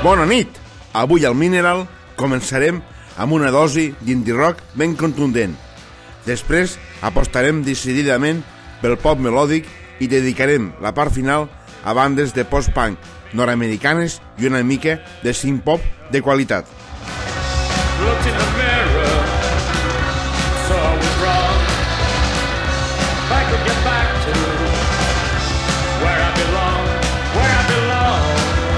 Bona nit! Avui al Mineral començarem amb una dosi d'indie rock ben contundent. Després apostarem decididament pel pop melòdic i dedicarem la part final a bandes de post-punk nord-americanes i una mica de synth-pop de qualitat. Looked in the mirror, saw I was wrong. If I could get back to where I belong, where I belong.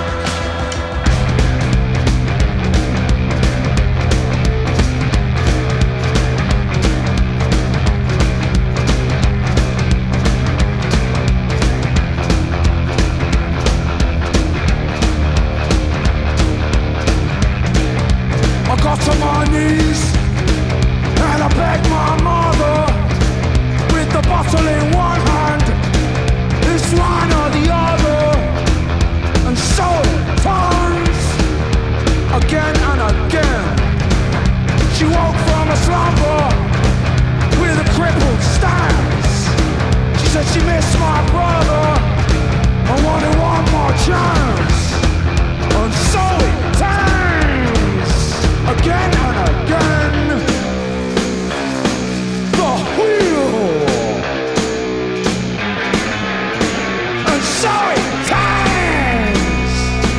I got to my knees and I begged my mother, with the bottle in one hand, this one or the other, and so it turns again and again. She woke from a slumber with a crippled stance. She said she missed my brother and wanted one more chance, and so it turns again and again. The wheel, and so it turns,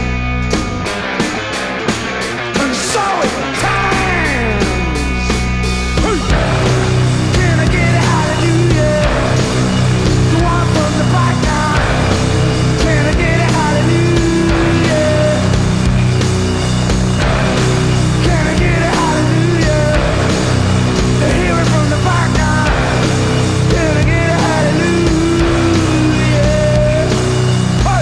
and so it turns. Can I get a hallelujah? The one from the back now. Can I get a hallelujah? Can I get a hallelujah? To hear it from the back now. Can I get a hallelujah? Hey!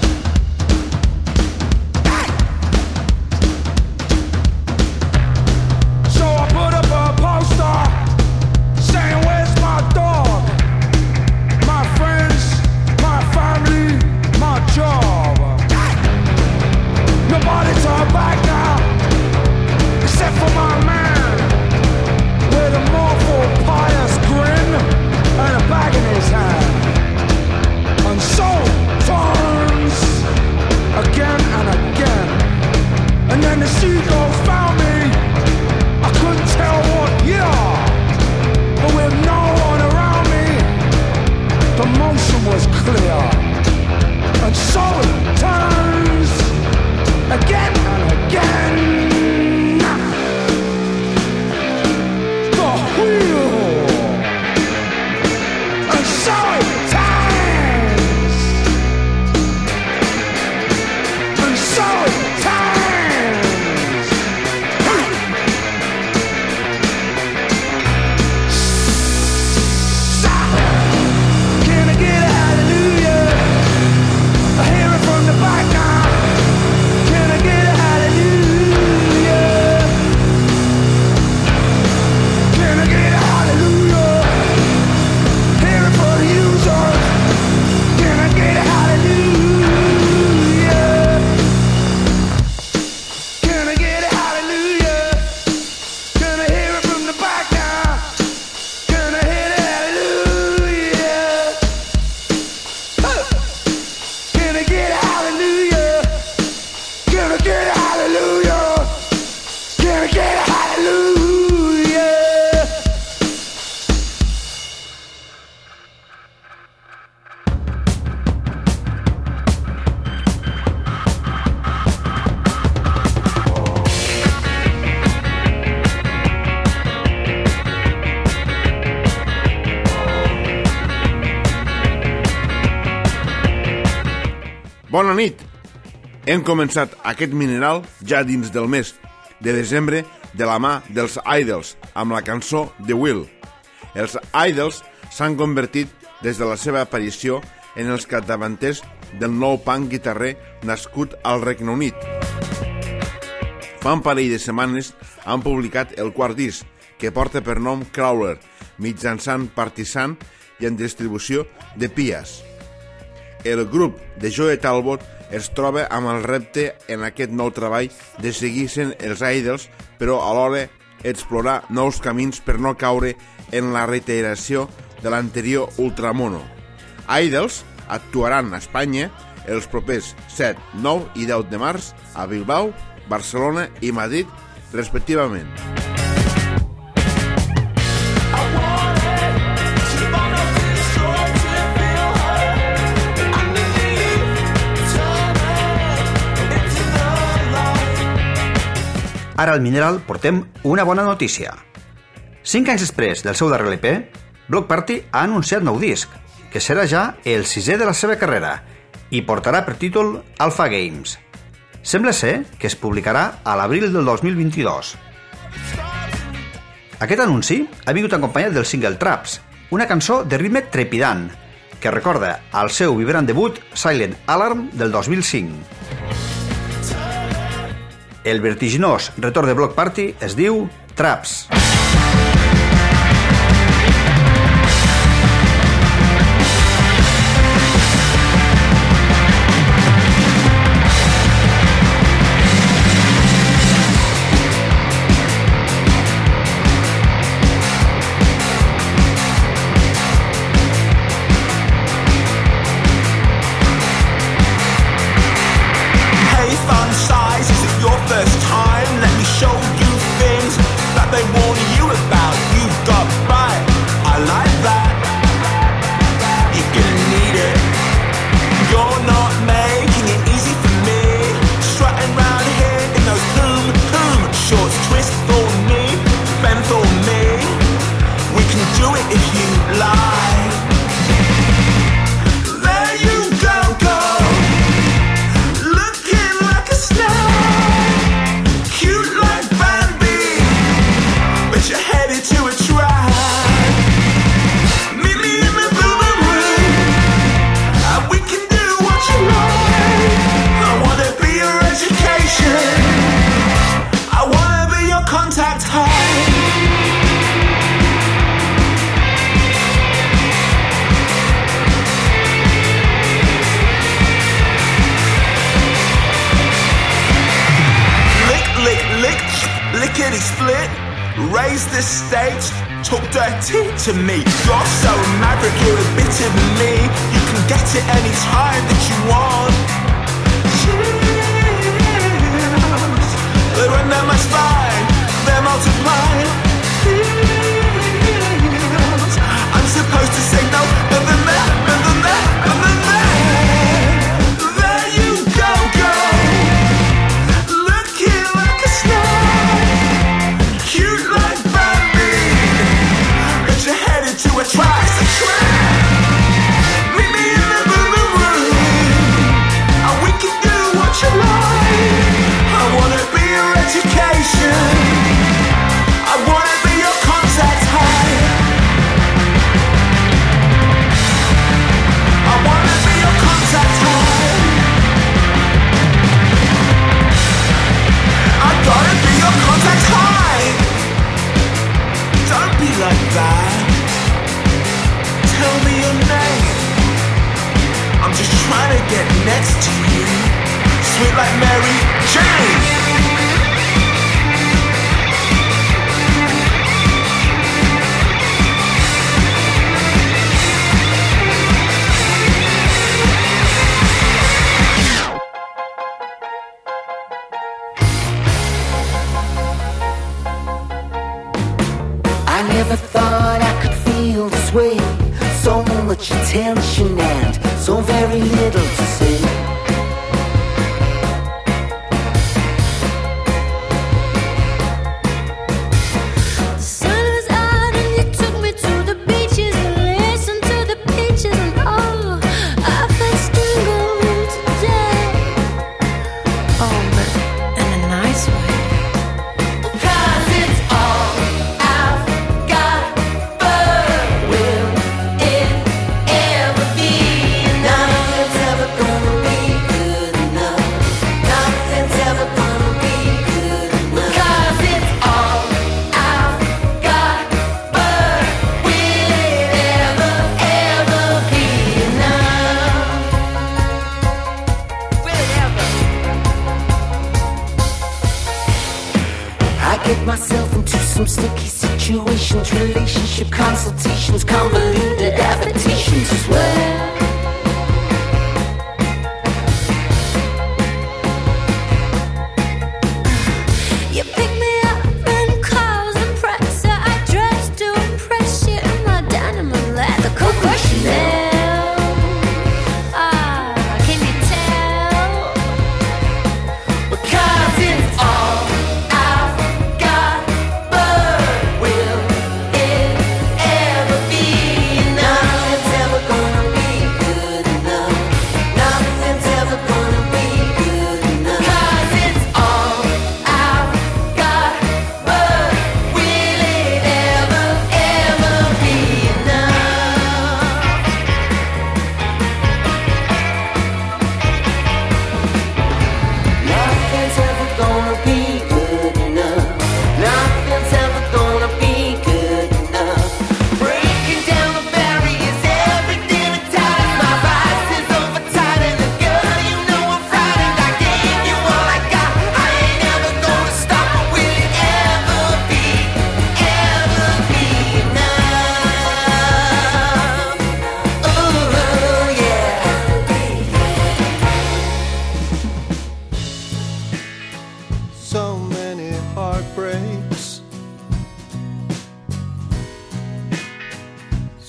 So I put up a poster saying, where's my dog? My friends, my family, my job. Nobody talk back now, except for my man, with a mournful, pious grin and a bag in his hand. And so it turns again and again. And then the seagulls found me. I couldn't tell what year, but with no one around me, the motion was clear. And so it turns again and again. The wheel, and so it turns, and so it turns. Can I get a hallelujah? I hear it from the back now. Can I get a hallelujah? Can I get a hallelujah? Hear it for the users. Can I get a hallelujah? Can I get a hallelujah? Can I hear it from the back now? Can I hear a hallelujah? Can I get a hallelujah? Can I get a hallelujah? Can I get a hallelujah? Bona nit! Hem començat aquest Mineral ja dins del mes de desembre de la mà dels Idols amb la cançó The Wheel. Els Idols s'han convertit des de la seva aparició en els capdavanters del nou punk guitarrer nascut al Regne Unit. Fa un parell de setmanes han publicat el quart disc, que porta per nom Crawler, mitjançant Partisan i en distribució de Pias. El grup de Joe Talbot es troba amb el repte en aquest nou treball de seguir sent els Idols, però alhora explorar nous camins per no caure en la reiteració de l'anterior Ultramono. Idols actuaran a Espanya els propers 7, 9 i 10 de març a Bilbao, Barcelona i Madrid, respectivament. Ara al Mineral portem una bona notícia. 5 anys després del seu darrer LP, Bloc Party ha anunciat nou disc, que serà ja el 6è de la seva carrera i portarà per títol Alpha Games. Sembla ser que es publicarà a l'abril del 2022. Aquest anunci ha vingut acompanyat del single Traps, una cançó de ritme trepidant, que recorda al seu vibrant debut Silent Alarm del 2005. El vertiginós retorn de Bloc Party es diu Traps. Raise the stakes, talk dirty to me. You're so maverick, you're a bit of me. You can get it any time that you want. Chills, they run down my spine, they're multiplying. Feels, I'm supposed to say no, but then that, and then that, and then that. There you go, girl, looking like a star. Cute like Bambi, but you're headed to a trap. Meet me in the boom room, and we can do what you like. I wanna be your education, I wanna be your contact high. I wanna be your contact high. I gotta be your contact high. Don't be like that. Tell me your name. I'm just trying to get next to you. Sweet like Mary Jane. I never thought I could feel this way. So much attention and so very little to say. The sun was out and you took me to the beaches and listened to the peaches and oh, I felt stingled today. Oh, but in a nice way. Myself into some sticky situations, relationship consultations, convoluted adaptations as well.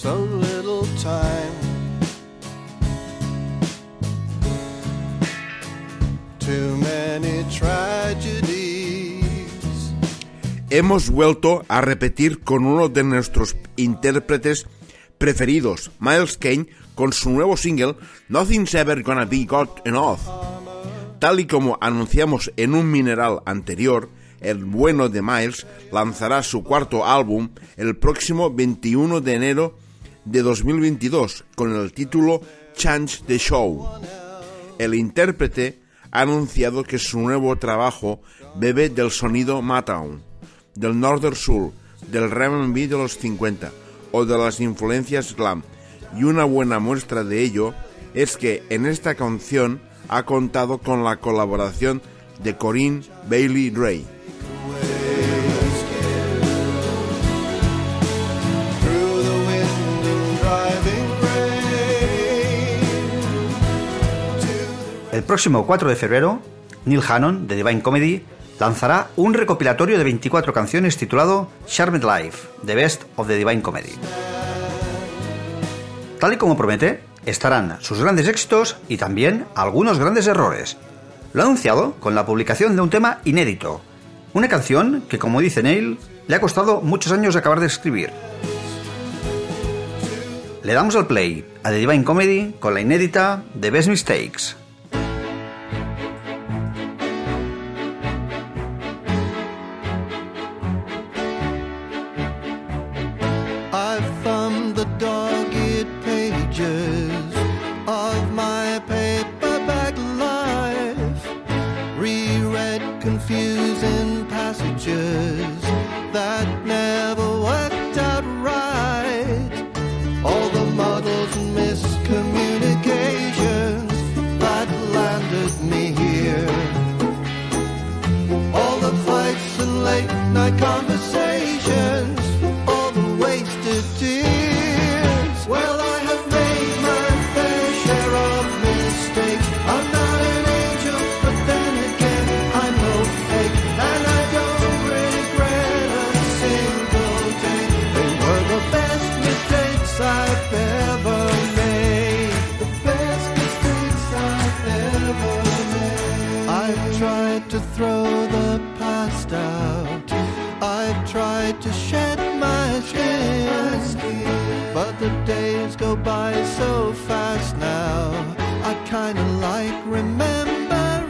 so little time. Too many tragedies. Hemos vuelto a repetir con uno de nuestros intérpretes preferidos, Miles Kane, con su nuevo single Nothing's Ever Gonna Be Good Enough. Tal y como anunciamos en un mineral anterior, el bueno de Miles lanzará su cuarto álbum el próximo 21 de enero de 2022 con el título Change the Show. El intérprete ha anunciado que su nuevo trabajo bebe del sonido Motown, del Northern Soul, del R&B de los 50 o de las influencias glam, y una buena muestra de ello es que en esta canción ha contado con la colaboración de Corinne Bailey Rae. El próximo 4 de febrero, Neil Hannon, de Divine Comedy, lanzará un recopilatorio de 24 canciones titulado Charmed Life, The Best of the Divine Comedy. Tal y como promete, estarán sus grandes éxitos y también algunos grandes errores. Lo ha anunciado con la publicación de un tema inédito, una canción que, como dice Neil, le ha costado muchos años acabar de escribir. Le damos al play a The Divine Comedy con la inédita The Best Mistakes. Confusing passages that never worked out right. All the muddles and miscommunications that landed me here. All the fights and late night conversations, all the wasted tears. Well, I have made my fair share of mistakes. I'm not an angel, but then again, I'm no fake, and I don't regret a single day. They were the best mistakes I've ever made. The best mistakes I've ever made. I've tried to throw the past out. I've tried to shed my skin, but the days go by so fast now. I kinda like remembering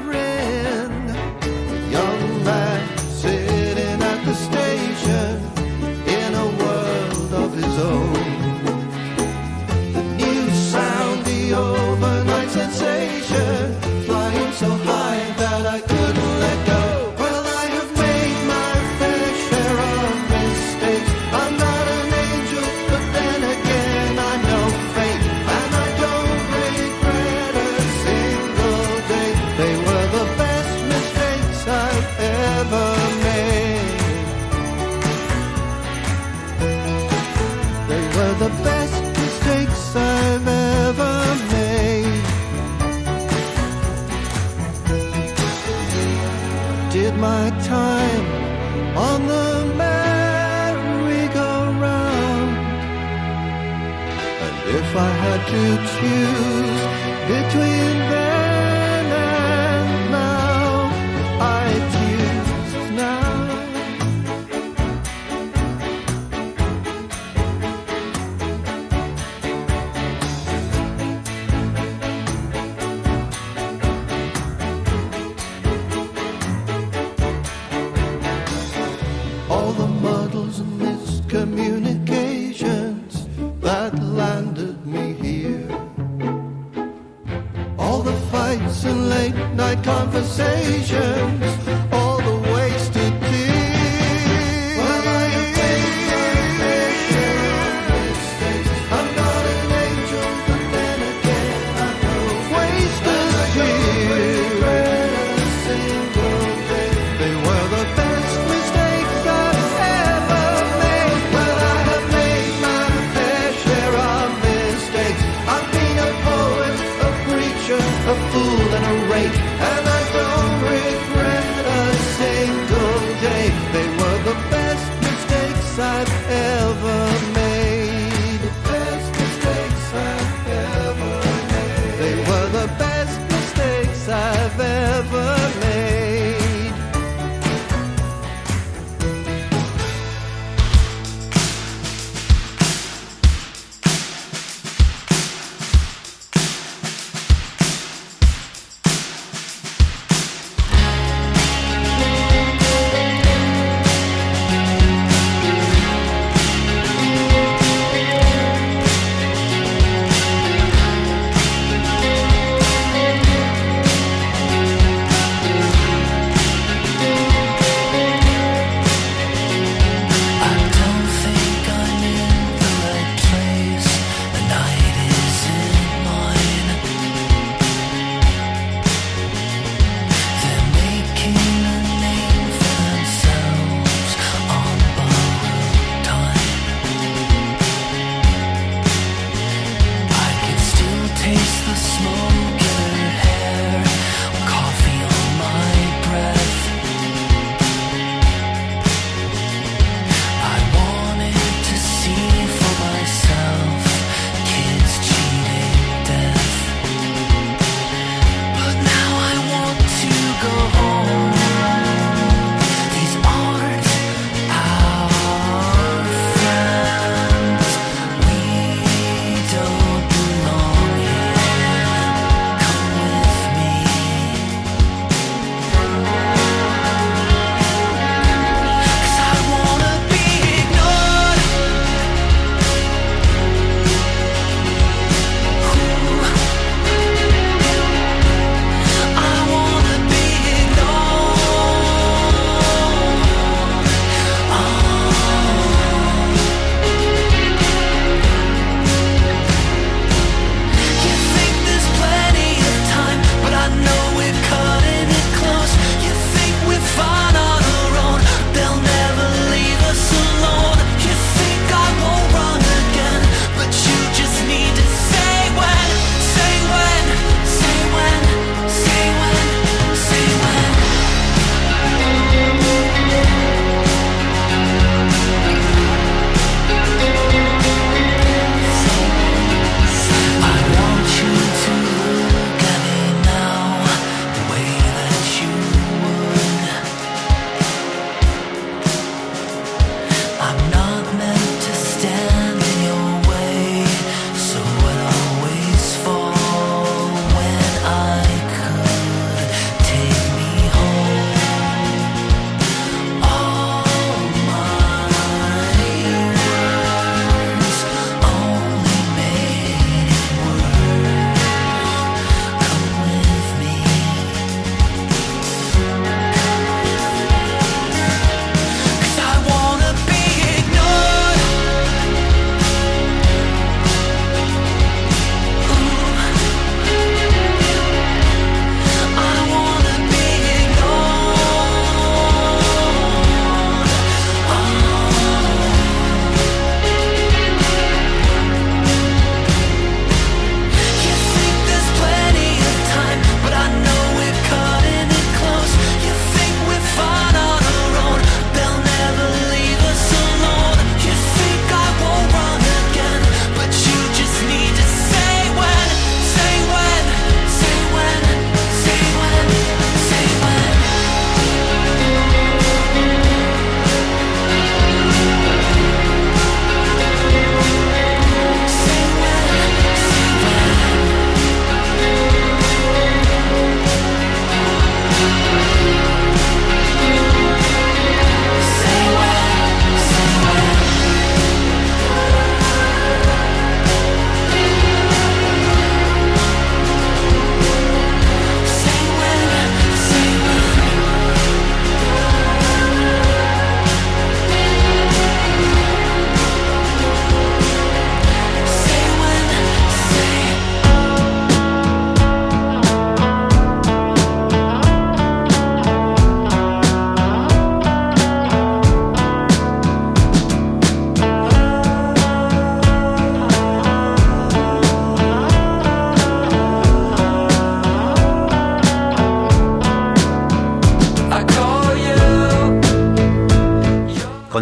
a young man sitting at the station in a world of his own. The new sound, the overnight sensation, flying so high that I couldn't let go. Well, I have made my fair share of mistakes. I'm not an angel, but then again, I'm no fake, and I don't regret a single day. They were the best mistakes I've ever made. They were the best mistakes I've ever made. Did my time on the merry-go-round, and if I had to choose between then and now, I'd choose now. All the muddles and miscommunications that landed me here. All the fights and late night conversations, all the wasted tears. Well, I have made my fair share of mistakes. I'm not an angel, but then again, I'm no wasted tears. A single day, they were the best mistakes I've ever made. Well, I have made my fair share of mistakes. I've been a poet, a preacher, a fool and a rake, and I don't regret a single day. They were the best mistakes I've ever made.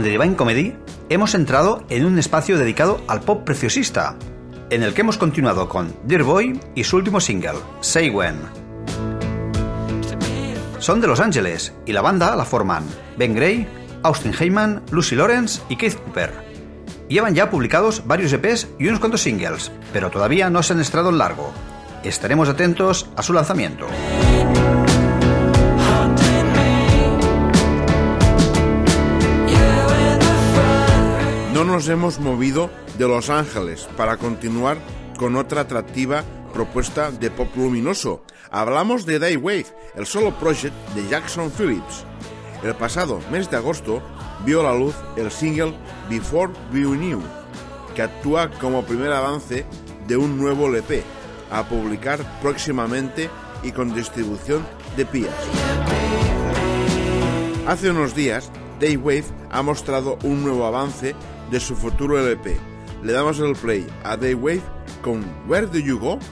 con The Divine Comedy hemos entrado en un espacio dedicado al pop preciosista, en el que hemos continuado con Dear Boy y su último single, Say When. Son de Los Ángeles y la banda la forman Ben Gray, Austin Heyman, Lucy Lawrence y Keith Cooper. Llevan ya publicados varios EPs y unos cuantos singles, pero todavía no se han estrenado en largo. Estaremos atentos a su lanzamiento. No nos hemos movido de Los Ángeles para continuar con otra atractiva propuesta de pop luminoso. Hablamos de Daywave, el solo project de Jackson Phillips. El pasado mes de agosto vio a la luz el single Before We Knew, que actúa como primer avance de un nuevo LP, a publicar próximamente y con distribución de Pias. Hace unos días, Daywave ha mostrado un nuevo avance de su futuro LP. Le damos el play a Daywave con Where Do You Go?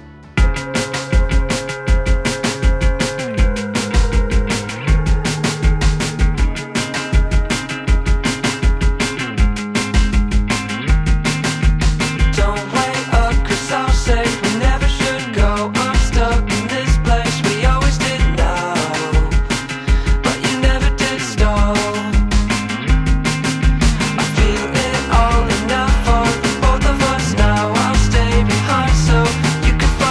You could find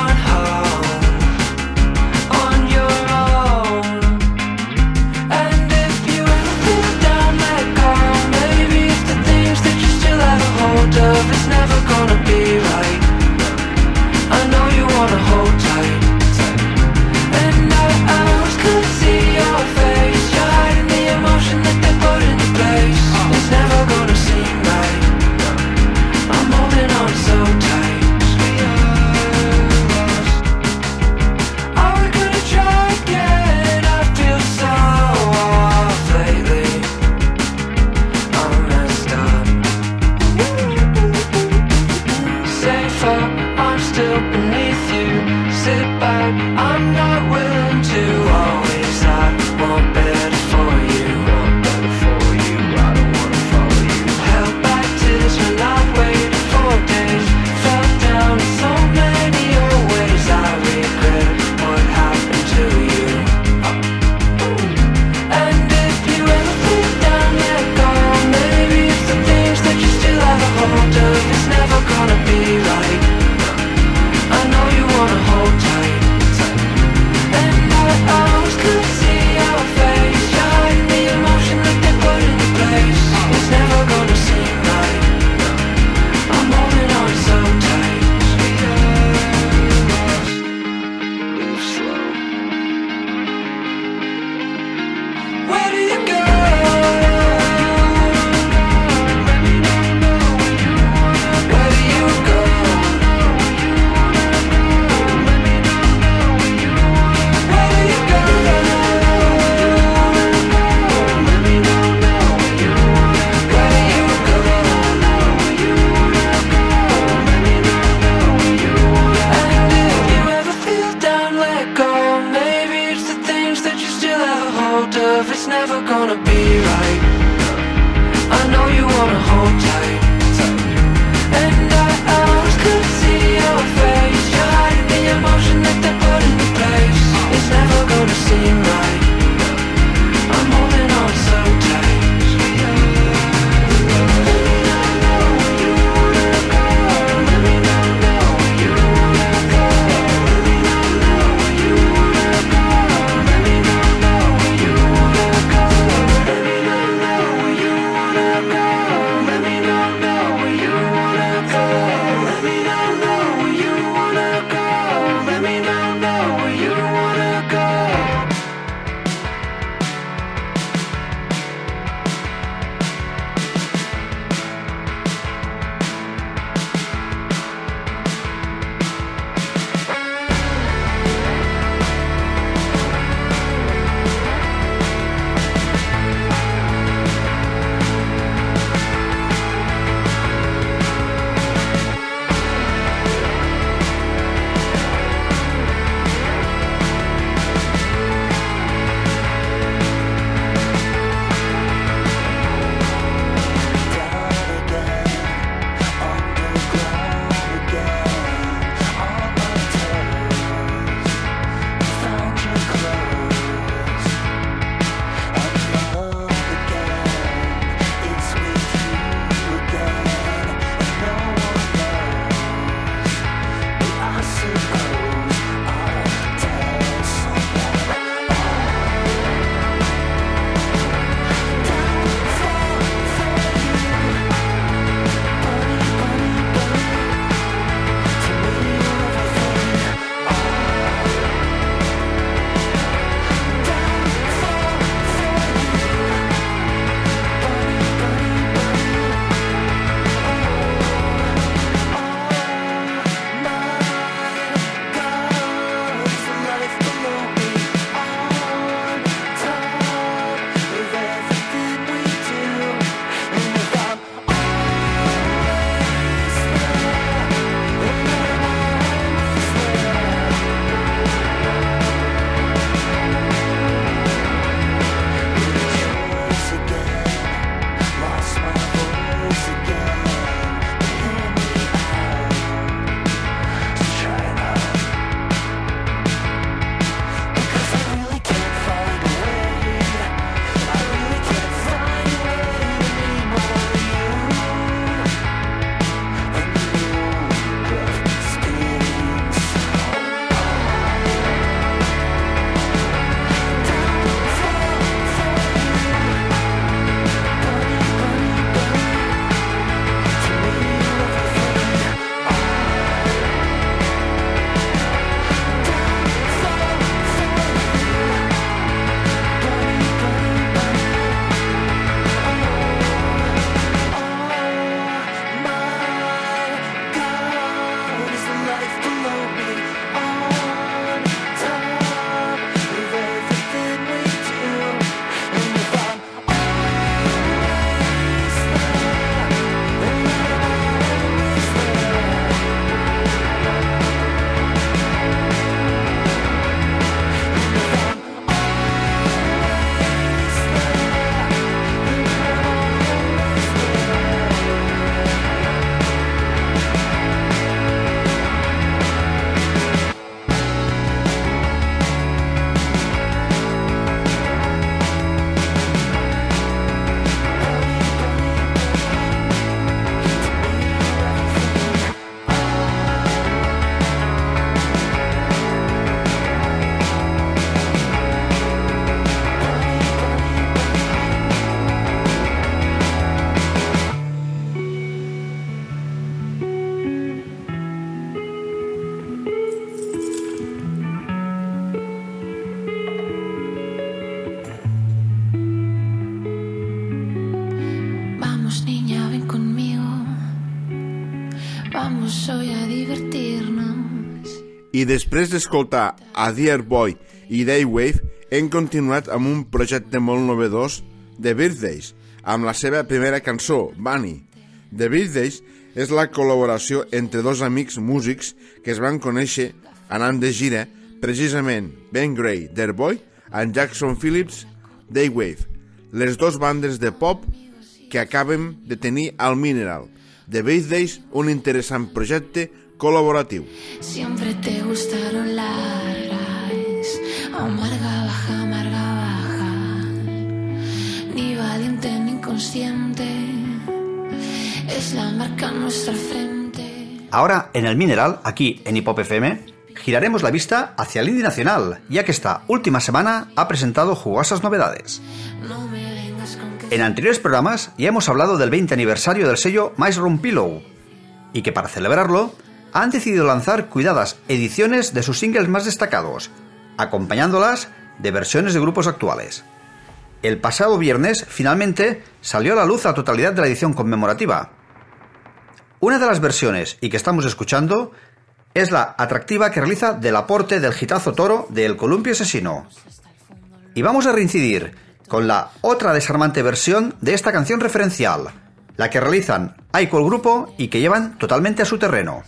Vamos hoy a divertirnos. I després d'escoltar a Dear Boy i Daywave, hem continuat amb un projecte molt novedós, The Birthdays, amb la seva primera cançó, Bunny. The Birthdays és la col·laboració entre dos amics músics que es van conèixer anant de gira, precisament Ben Gray, Dear Boy, and Jackson Phillips, Daywave, les dos bandes de pop que acabem de tenir al Mineral. The Birthdays, un interessant projecte col·laboratiu. Siempre te gustaron largas, amarga baja, ni valiente ni consciente, es la marca en nuestra frente. Ahora, en el Mineral, aquí en Hip Hop FM, giraremos la vista hacia el indie nacional, ya que esta última semana ha presentado jugosas novedades. No me vengas con que En anteriores programas ya hemos hablado del 20 aniversario del sello Mushroom Pillow, y que para celebrarlo han decidido lanzar cuidadas ediciones de sus singles más destacados, acompañándolas de versiones de grupos actuales. El pasado viernes, finalmente, salió a la luz la totalidad de la edición conmemorativa. Una de las versiones, y que estamos escuchando, es la atractiva que realiza del aporte del hitazo Toro de El Columpio Asesino. Y vamos a reincidir con la otra desarmante versión de esta canción referencial, la que realizan Aiko el grupo y que llevan totalmente a su terreno.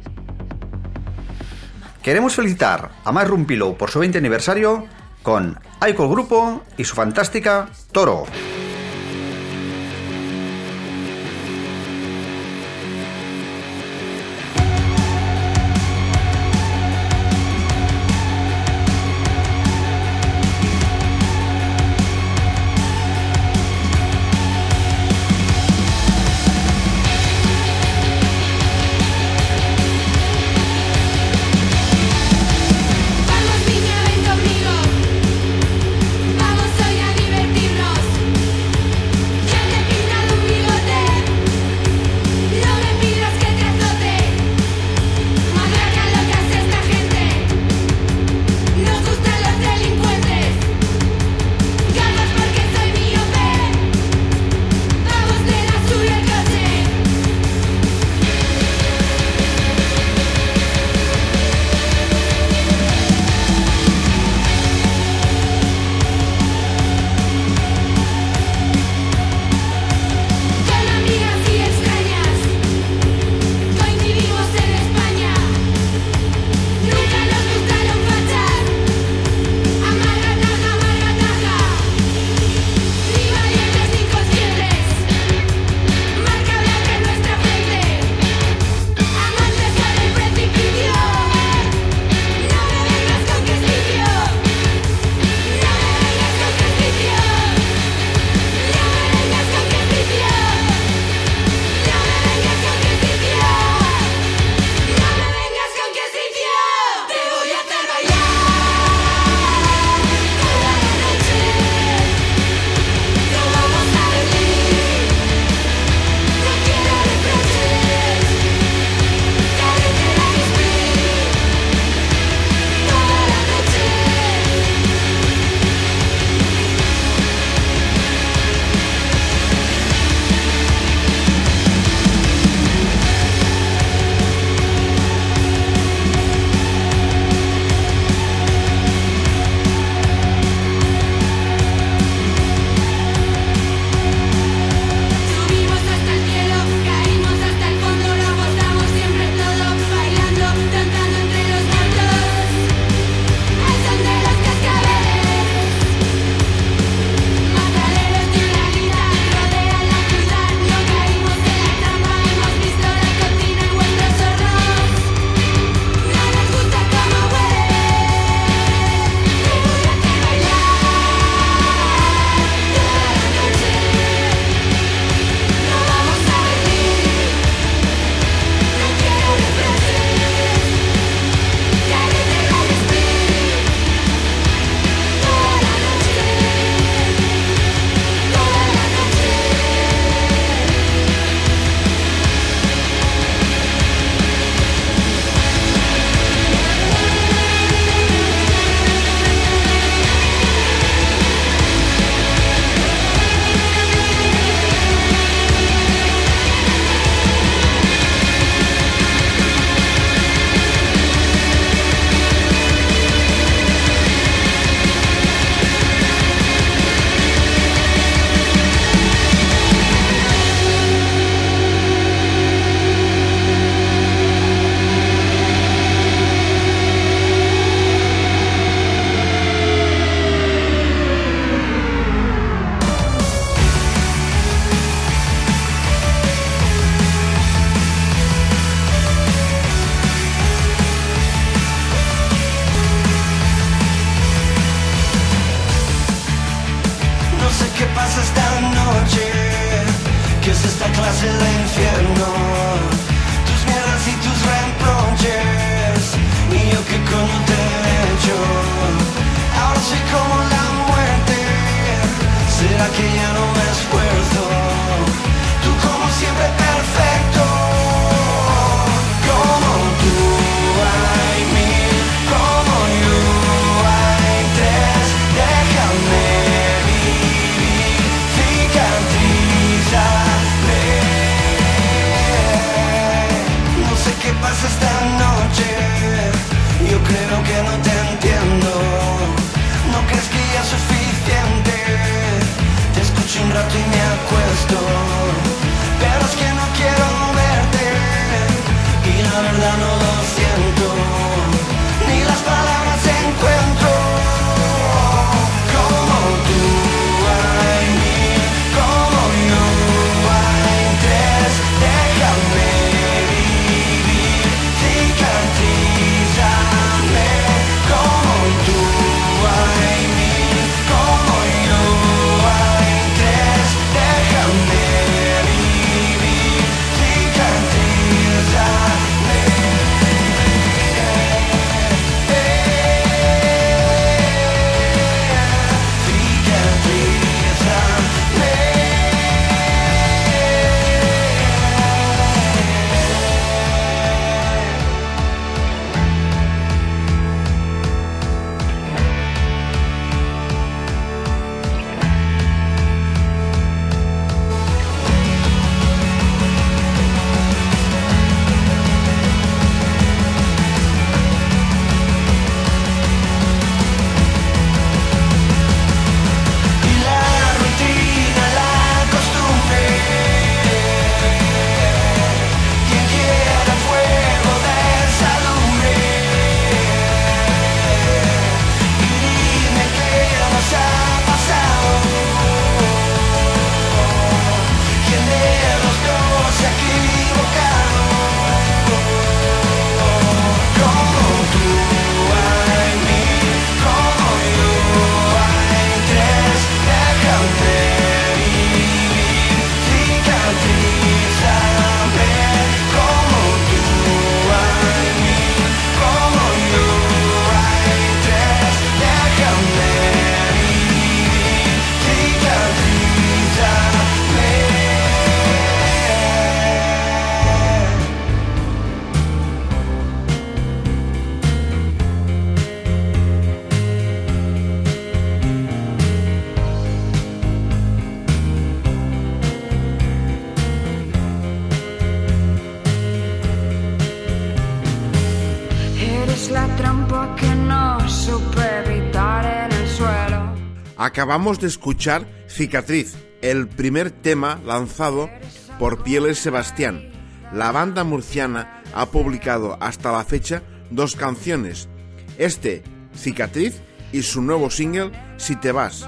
Queremos felicitar a Mushroom Pillow por su 20 aniversario con Aiko el grupo y su fantástica Toro. Vamos niña, ven conmigo. Vamos hoy a divertirnos. clase de infierno, tus mierdas y tus reproches, y yo qué coño te he hecho. Ahora soy como la muerte, será que ya no me esfuerzo, tú como siempre perfecto, como tú hay mil, como yo hay tres, déjame vivir, cicatrizarme. No sé qué pasa esta noche, yo creo que no te entiendo. ¿No crees que ya es suficiente? Te escucho un rato y me acuesto, pero es que no quiero verte, y la verdad no lo siento, ni las palabras encuentro. Como tú hay mil, como yo hay tres, déjame vivir, cicatrizarme. Como tú hay mil, como yo hay tres, déjame vivir, cicatrizarme. Y la rutina, la costumbre, quien quiera fuego desalumbre. Y dime qué nos ha pasado, quién de los dos se ha equivocado. Como tú hay mil, como yo hay tres, déjame vivir, cicatrizarme. Como tú hay mil, como yo hay tres, déjame vivir, cicatrizarme. Eres la trampa que no supe evitar en el suelo. Acabamos de escuchar Cicatriz, el primer tema lanzado por Pieles Sebastián. La banda murciana ha publicado hasta la fecha 2 canciones, Cicatriz, y su nuevo single, Si te vas.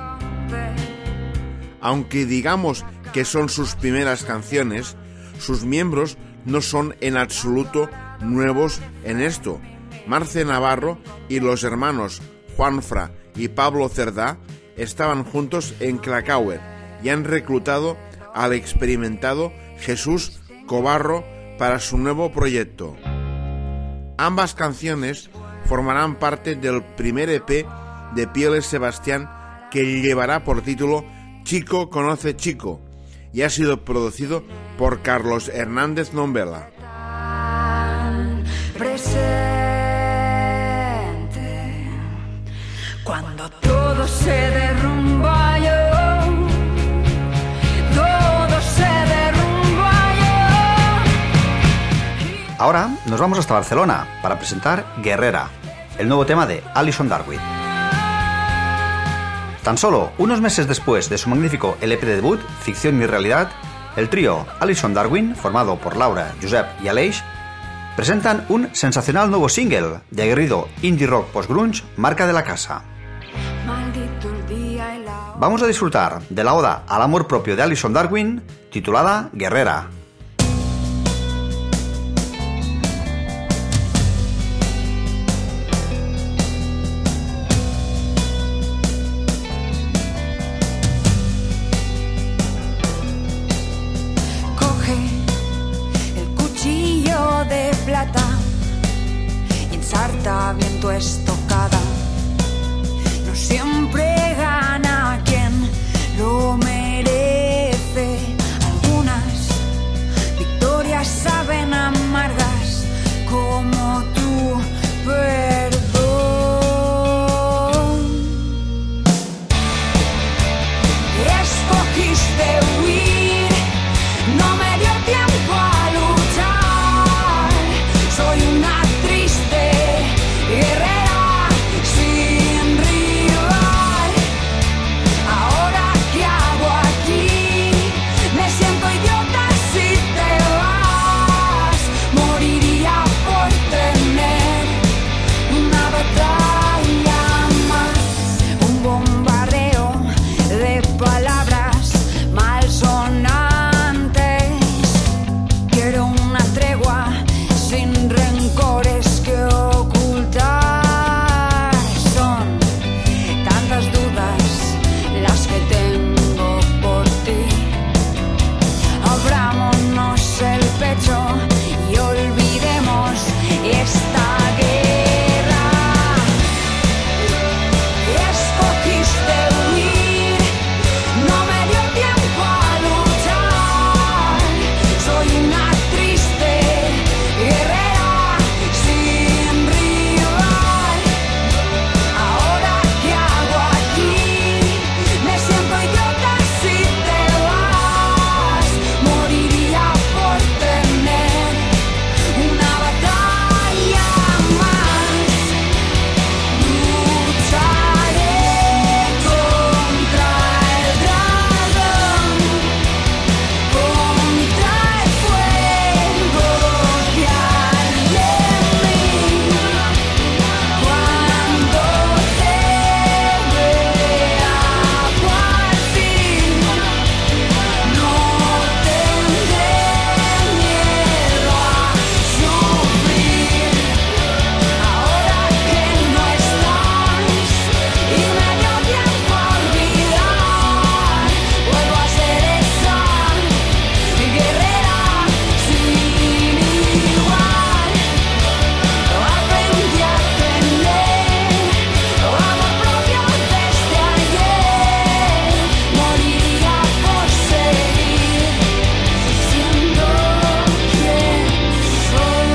Aunque digamos que son sus primeras canciones, sus miembros no son en absoluto nuevos en esto. Marce Navarro y los hermanos Juanfra y Pablo Cerdá estaban juntos en Krakauer y han reclutado al experimentado Jesús Cobarro para su nuevo proyecto. Ambas canciones formarán parte del primer EP de Pieles Sebastián, que llevará por título Chico conoce Chico, y ha sido producido por Carlos Hernández Nombela. Presente cuando todo se derrumba, todo se derrumba. Ahora nos vamos hasta Barcelona para presentar Guerrera, el nuevo tema de Alison Darwin. Tan solo unos meses después de su magnífico LP de debut, Ficción y Realidad, el trío Alison Darwin, formado por Laura, Josep y Aleix, presentan un sensacional nuevo single de aguerrido indie rock post-grunge, marca de la casa. Maldito el día y la hora. Vamos a disfrutar de la oda al amor propio de Alison Darwin, titulada Guerrera. Coge plata y en sarta viento estocada. No siempre gana quien lo merece. Algunas victorias saben amargas como tu perdón. Escogiste huir, no me dio tiempo a luchar. Soy una triste guerrera sin rival. Ahora ¿qué hago aquí? Me siento idiota si te vas. Moriría por tener una batalla más. Un bombardeo de palabras malsonantes. Quiero una tregua sin rencores que ocultar. Son tantas dudas las que tengo por ti. Abrámonos el pecho y olvidemos esta guerra. Escogiste huir, no me dio tiempo a luchar. Soy una triste guerrera sin rival. Ahora ¿qué hago aquí? Me siento idiota si te vas. Moriría por tener una batalla más. Lucharé contra el dragón, contra el fuego que arde en mí. Cuando te vea partir, no tendré miedo a sufrir. Ahora que no estás y me dio tiempo a olvidar, vuelvo a ser esa guerrera sin igual. Aprendí a tener amor propio desde ayer. Moriría por seguir siendo quien soy.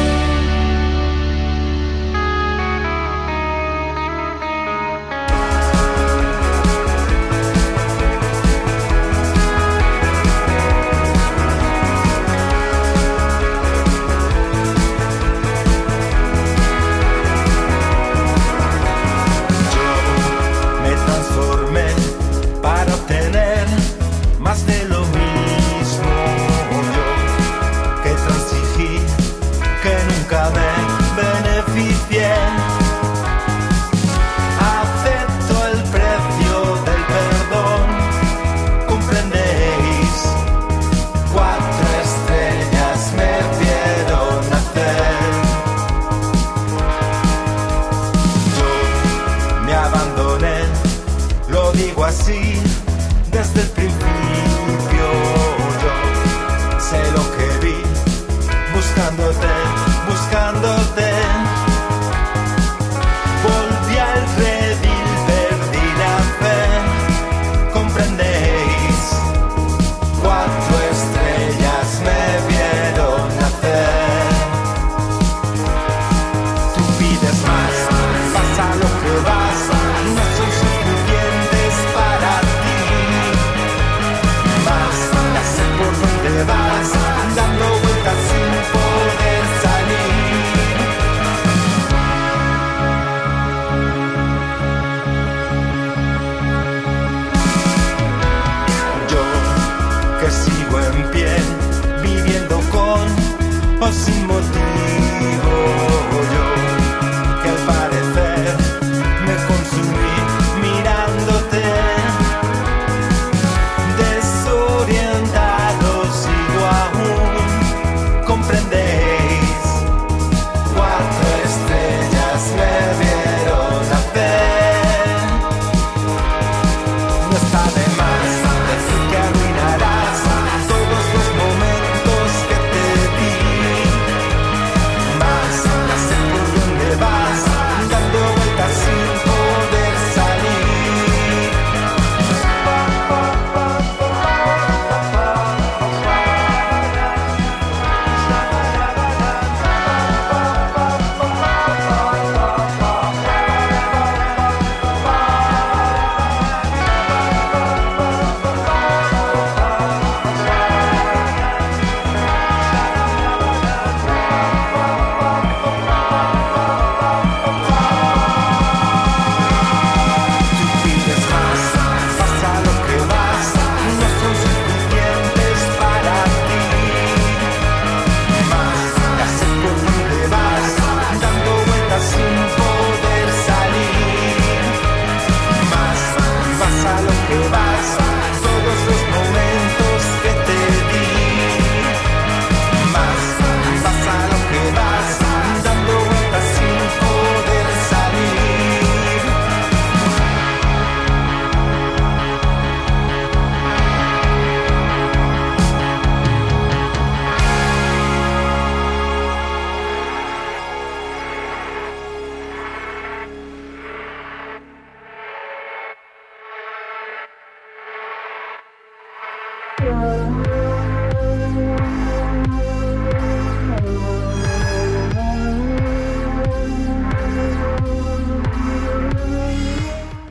Me transformé para obtener más de lo mismo. Yo que transigí, que nunca me beneficié. Acepto el precio del perdón. ¿Comprendéis? 4 estrellas me vieron nacer. Yo me abandoné, lo digo así desde el principio. Yo sé lo que vi, buscándote, buscándote. Volví al redil, perdí la fe. ¿Comprendéis? 4 estrellas me vieron nacer. Tú pides más, vas a lo que vas, no son suficientes para ti. Más, ya sé por dónde vas, dando vueltas sin poder salir. Yo que sigo en pie, viviendo con o sin motivo. Yo que al parecer me consumí mirándote. Desorientado sigo aún. ¿Comprendéis? 4 estrellas me vieron nacer. No está de más decir que arruinarás todos los momentos que te di.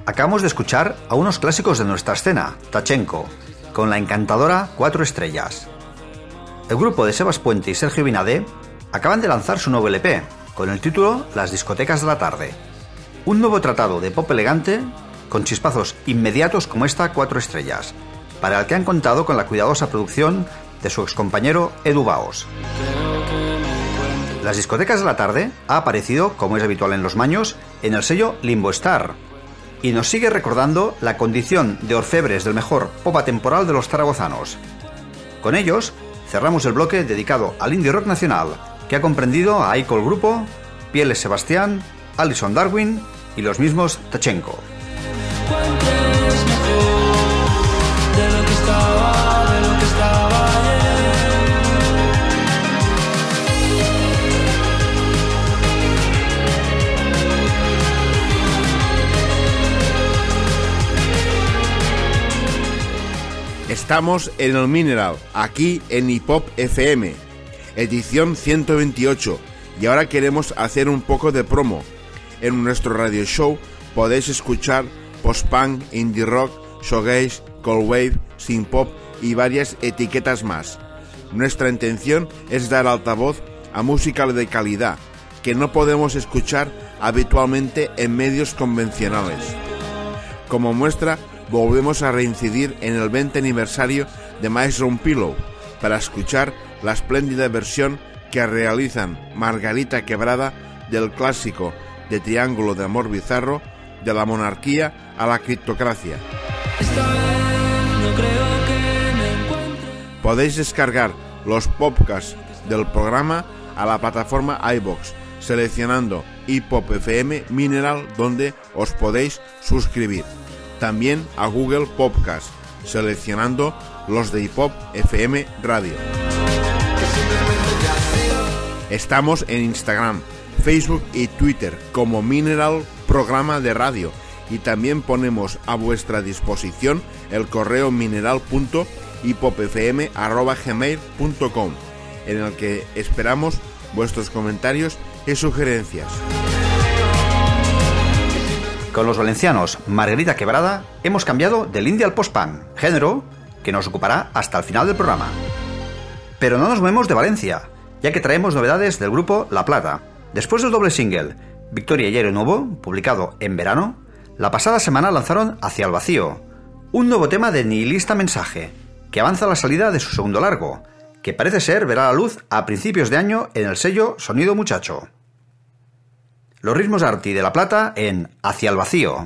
Acabamos de escuchar a unos clásicos de nuestra escena, Tachenko, con la encantadora 4 estrellas. El grupo de Sebas Puente y Sergio Binade acaban de lanzar su nuevo LP, con el título Las discotecas de la tarde. Un nuevo tratado de pop elegante, con chispazos inmediatos como esta 4 estrellas, para el que han contado con la cuidadosa producción de su excompañero Edu Baos. Las discotecas de la tarde ha aparecido, como es habitual en los maños, en el sello Limbo Star, y nos sigue recordando la condición de orfebres del mejor pop atemporal de los zaragozanos. Con ellos cerramos el bloque dedicado al indie rock nacional, que ha comprendido a Icol Grupo, Pieles Sebastián, Alison Darwin y los mismos Tachenko. Estamos en el Mineral, aquí en Hip Hop FM, edición 128, y ahora queremos hacer un poco de promo. En nuestro radio show podéis escuchar post-punk, indie rock, shoegaze, cold wave, synth pop y varias etiquetas más. Nuestra intención es dar altavoz a música de calidad que no podemos escuchar habitualmente en medios convencionales. Como muestra, volvemos a reincidir en el 20 aniversario de Maestro Pillow para escuchar la espléndida versión que realizan Margarita Quebrada del clásico de Triángulo de Amor Bizarro, de la monarquía a la criptocracia. Podéis descargar los podcasts del programa a la plataforma iVoox, seleccionando Hip Hop FM Mineral, donde os podéis suscribir. También a Google Podcast, seleccionando los de Hip Hop FM Radio. Estamos en Instagram, Facebook y Twitter como Mineral Programa de Radio, y también ponemos a vuestra disposición el correo mineral.hipopfm@gmail.com, en el que esperamos vuestros comentarios y sugerencias. Con los valencianos Margarita Quebrada hemos cambiado del indie al post-punk, género que nos ocupará hasta el final del programa. Pero no nos movemos de Valencia, ya que traemos novedades del grupo La Plata. Después del doble single Victoria y Aire Nuevo, publicado en verano, la pasada semana lanzaron Hacia el Vacío, un nuevo tema de nihilista mensaje, que avanza la salida de su segundo largo, que parece ser verá la luz a principios de año en el sello Sonido Muchacho. Los ritmos arty de La Plata en Hacia el Vacío.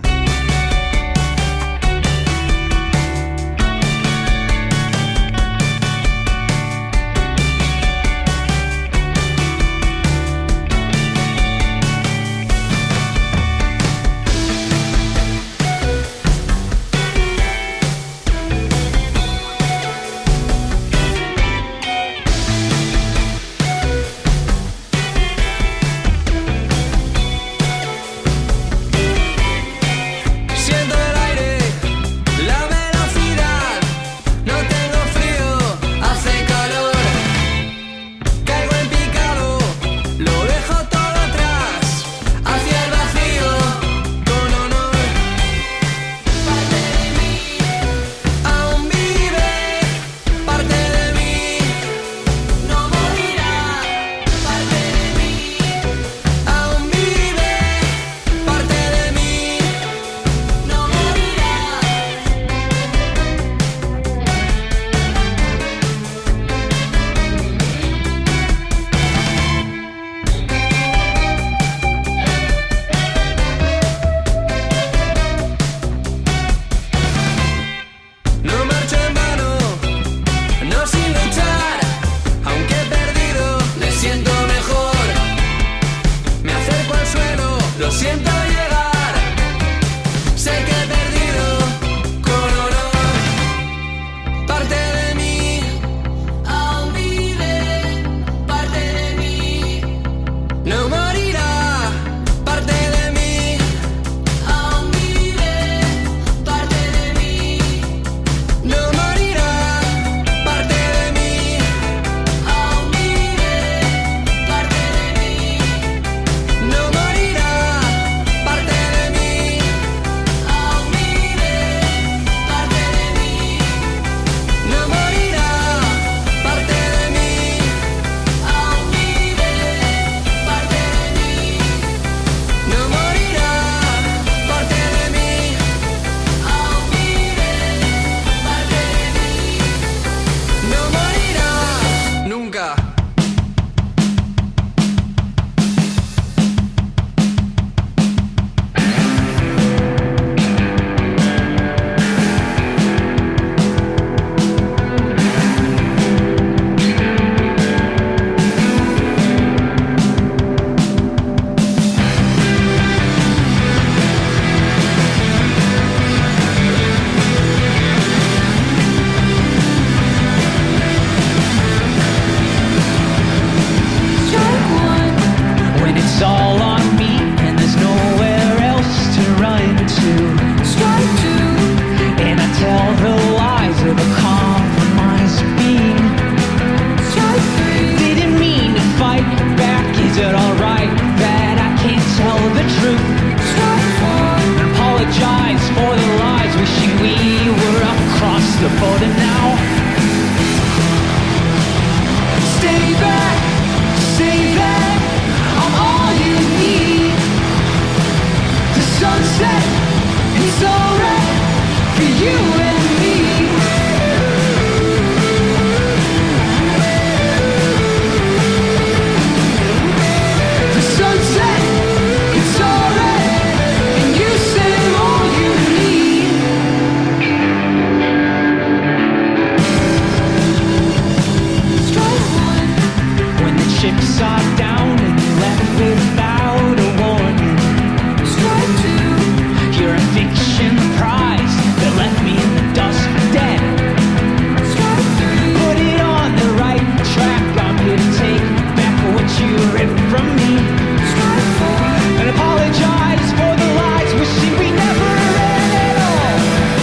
upside down and left without a warning. Strike two. You're a fiction prize that left me in the dust for dead. Strike three. Put it on the right track. I'm here to take back what you ripped from me. Strike four. And apologize for the lies, wishing we never ran at all.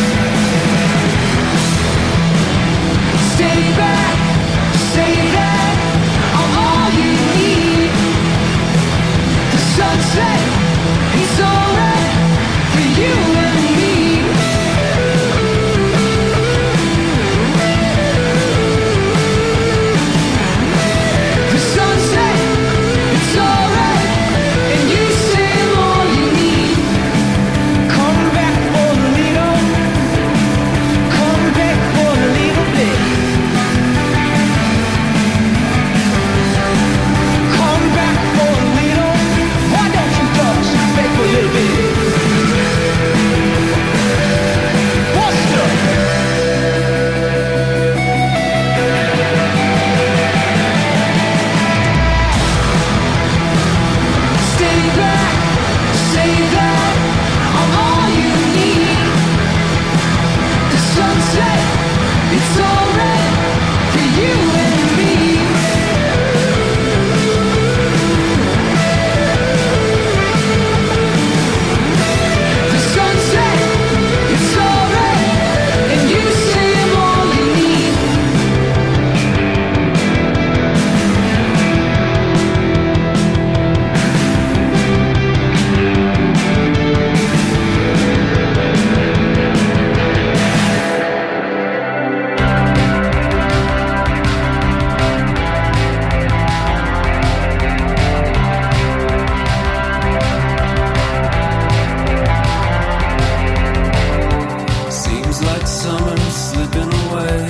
Stay back, say that I'm all you need. The sunset, it's alright for you and me. The sunset, it's alright, and you say I'm all you need. Come back for a little, come back for a little bit. Come back for a little, why don't you just back for a little bit? What's up? Stay back, say that I'm all you need. The sunset, it's alright for you and me. The sunset, it's alright, and you say I'm all you need. Seems like summer's slipping away.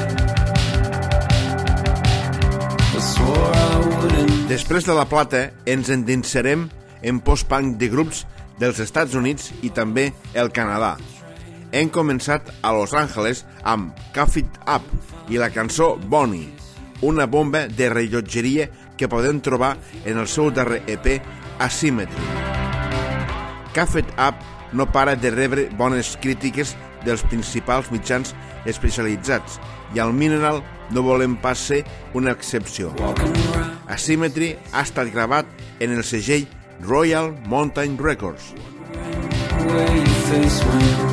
I swore I wouldn't. Després de la plata, ens endinsarem en post-punk de grups dels Estats Units i també el Canadà. Hem començat a Los Angeles amb Cuff It Up i la cançó Bonnie, una bomba de rellotgeria que podem trobar en el seu darrer EP Asymmetry. Cuff It Up no para de rebre bones crítiques dels principals mitjans especialitzats i al Mineral no volem pas ser una excepció. Asymmetry ha estat gravat en el segell Royal Mountain Records. Where your face went.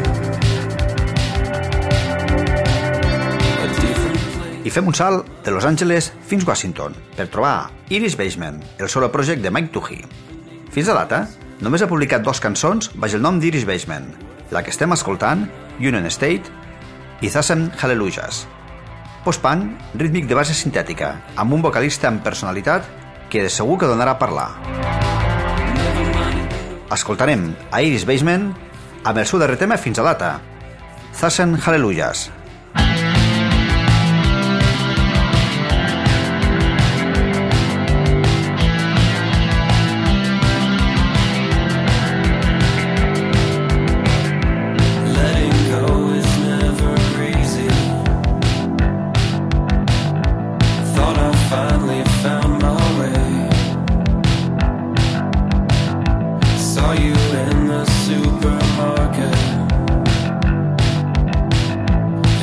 A different place. I fem un salt de Los Angeles fins Washington per trobar Iris Basement, el solo project de Mike Toohey. Fins a data, només ha publicat 2 cançons baix el nom d'Iris Basement, la que estem escoltant, Union State, i Thousand Hallelujahs. Post-punk rítmic de base sintètica, amb un vocalista amb personalitat que de segur que donarà a parlar. Escoltarem a Iris Basement amb el seu darrer tema fins a data, Thousand Hallelujahs. Letting go is never easy. Thought I finally found my way. Saw you in the supermarket.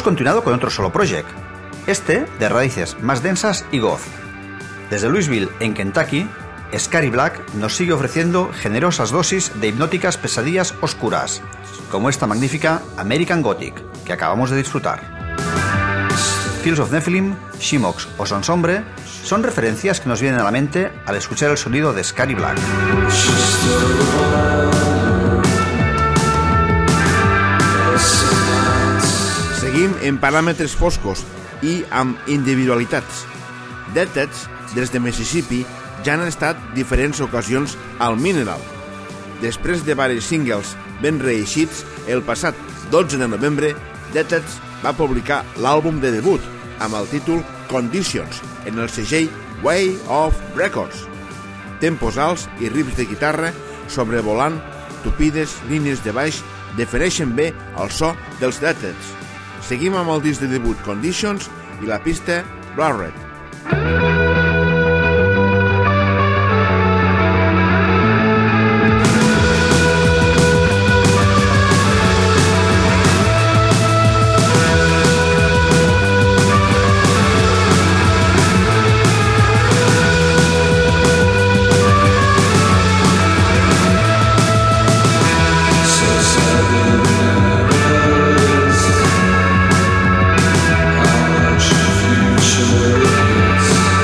hemos continuado con otro solo project, este de raíces más densas y goth. Desde Louisville, en Kentucky, Scary Black nos sigue ofreciendo generosas dosis de hipnóticas pesadillas oscuras, como esta magnífica American Gothic, que acabamos de disfrutar. Fields of Nephilim, Shimox o Sonsombre son referencias que nos vienen a la mente al escuchar el sonido de Scary Black. Seguim en paràmetres foscos i amb individualitats. Deadheads, des de Mississippi, ja han estat diferents ocasions al Mineral. Després de varis singles ben reeixits, el passat 12 de novembre, Deadheads va publicar l'àlbum de debut amb el títol Conditions en el segell Way of Records. Tempos alts i riffs de guitarra sobrevolant tupides línies de baix defineixen bé el so dels Deadheads. Seguim amb el disc de debut Conditions i la pista Blood Red. Future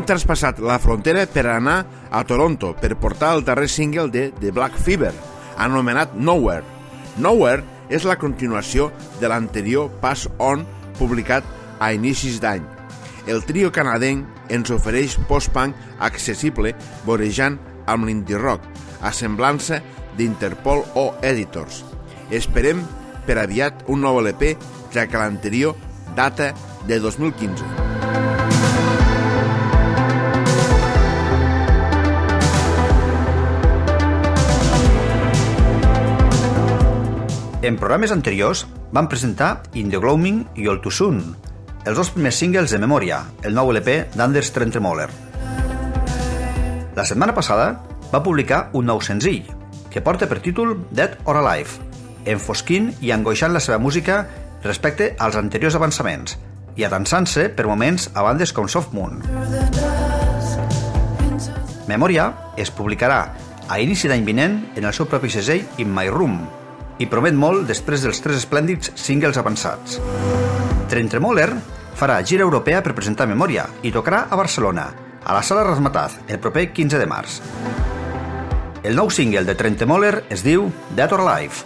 traspassat la frontera per anar a Toronto per portar el darrer single de The Black Fever, anomenat Nowhere. Nowhere és la continuació de l'anterior Pass On, publicat a inicis d'any. El trio canadenc ens ofereix post-punk accessible vorejant amb l'indie rock, a semblança d'Interpol o Editors. Esperem per aviat un nou LP, ja que l'anterior data de 2015. En programes anteriors van presentar In the Gloaming i All Too Soon, els dos primers singles de Memòria, el nou LP d'Anders Trentemoller. La setmana passada va publicar un nou senzill, que porta per títol Dead or Alive, enfosquint i angoixant la seva música respecte als anteriors avançaments i atansant-se per moments a bandes com Soft Moon. Memòria es publicarà a inici d'any vinent en el seu propi segell In My Room i promet molt després dels 3 esplèndids singles avançats. Trentemoller farà gira europea per presentar Memòria i tocarà a Barcelona, a la Sala Razmataz, el proper 15 de març. El nou single de Trentemoller es diu Dead or Alive.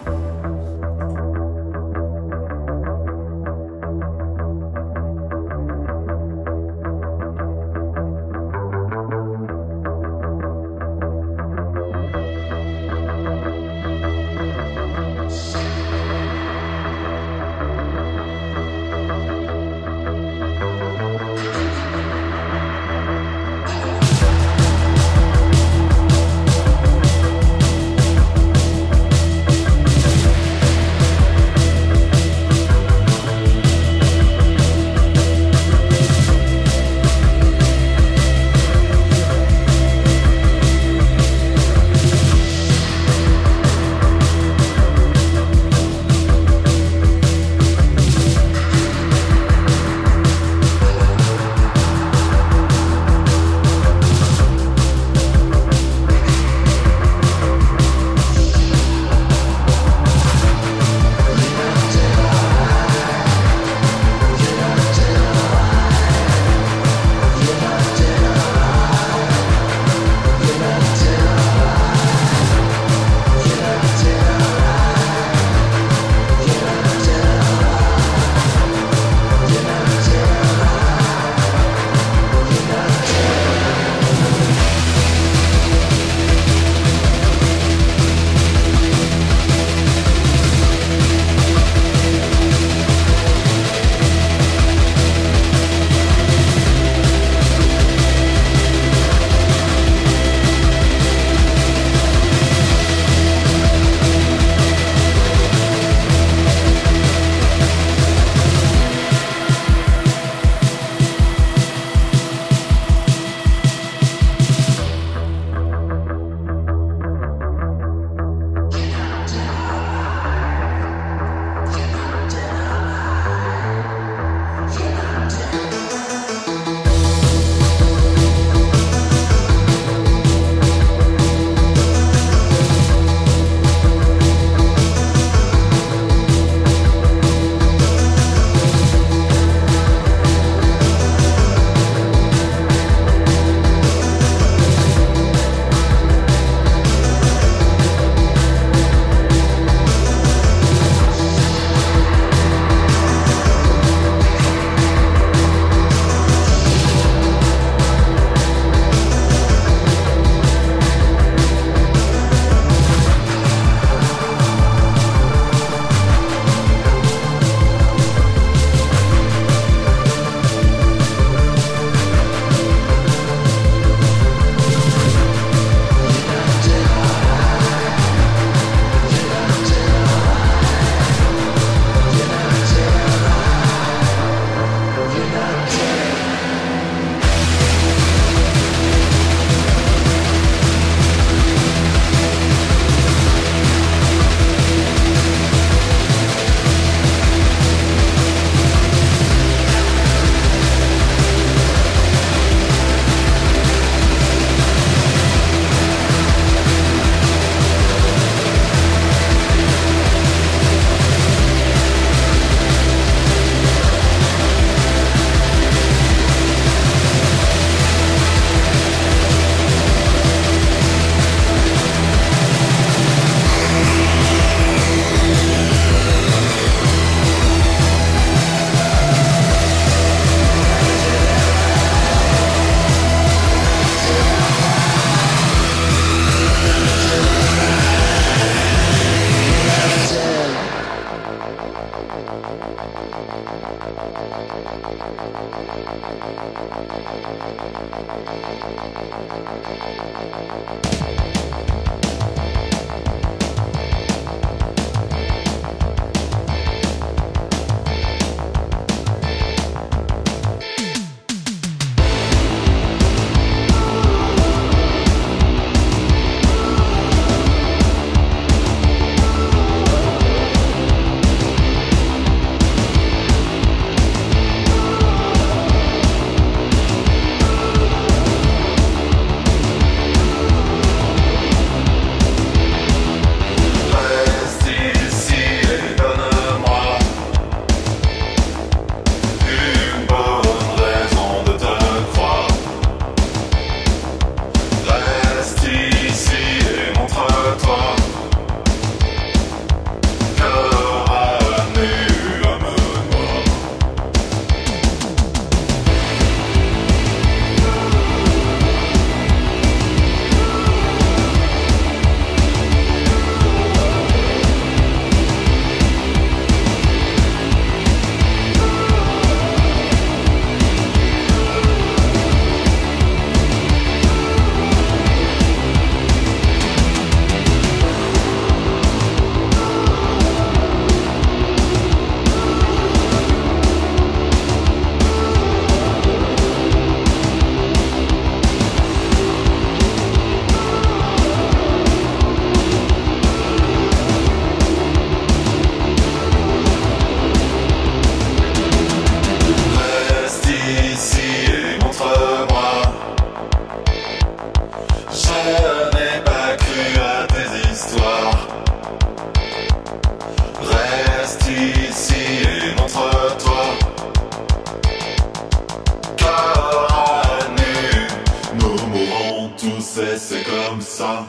song.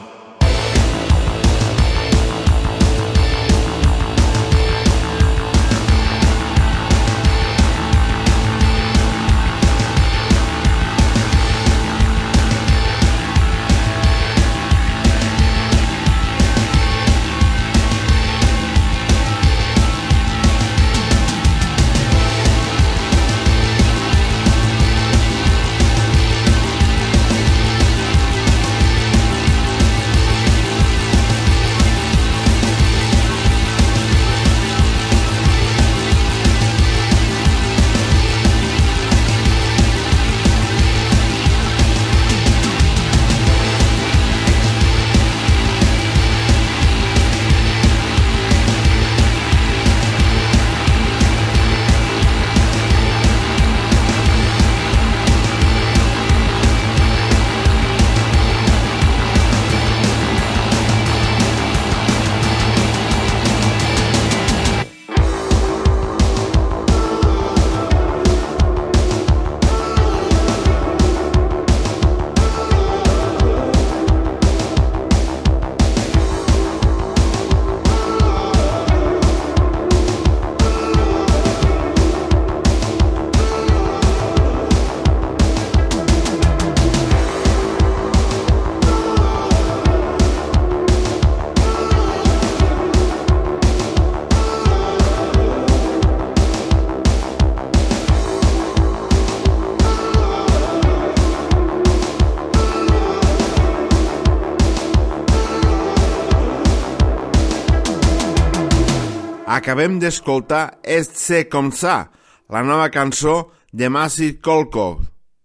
Acabem d'escoltar C'est comme ça, la nova cançó de Massive Kolkov,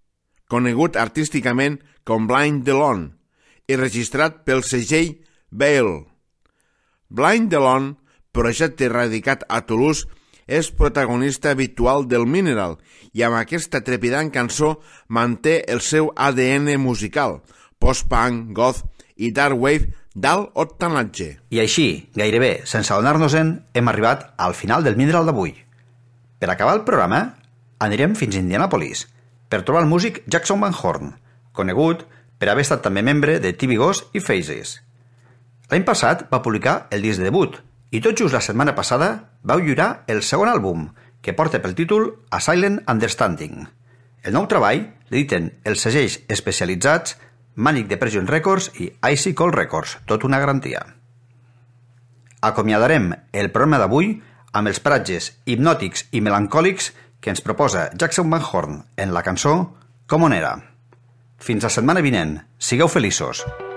conegut artísticament com Blind Delon i registrat pel segell Bale. Blind Delon, projecte radicat a Toulouse, és protagonista habitual del Mineral i amb aquesta trepidant cançó manté el seu ADN musical, post-punk, goth i dark wave d'alt octanatge. I així, gairebé sense adonar-nos-en, hem arribat al final del Mineral d'avui. Per acabar el programa, anirem fins a Indianapolis per trobar el músic Jackson Van Horn, conegut per haver estat també membre de TV Ghost i Phases. L'any passat va publicar el disc de debut i tot just la setmana passada vau lliurar el segon àlbum, que porta pel títol A Silent Understanding. El nou treball l'editen els segells especialitzats Manic Depression Records i Icy Cold Records, tot una garantia. Acomiadarem el programa d'avui amb els paratges hipnòtics i melancòlics que ens proposa Jackson Van Horn en la cançó Com on era. Fins la setmana vinent. Sigueu feliços.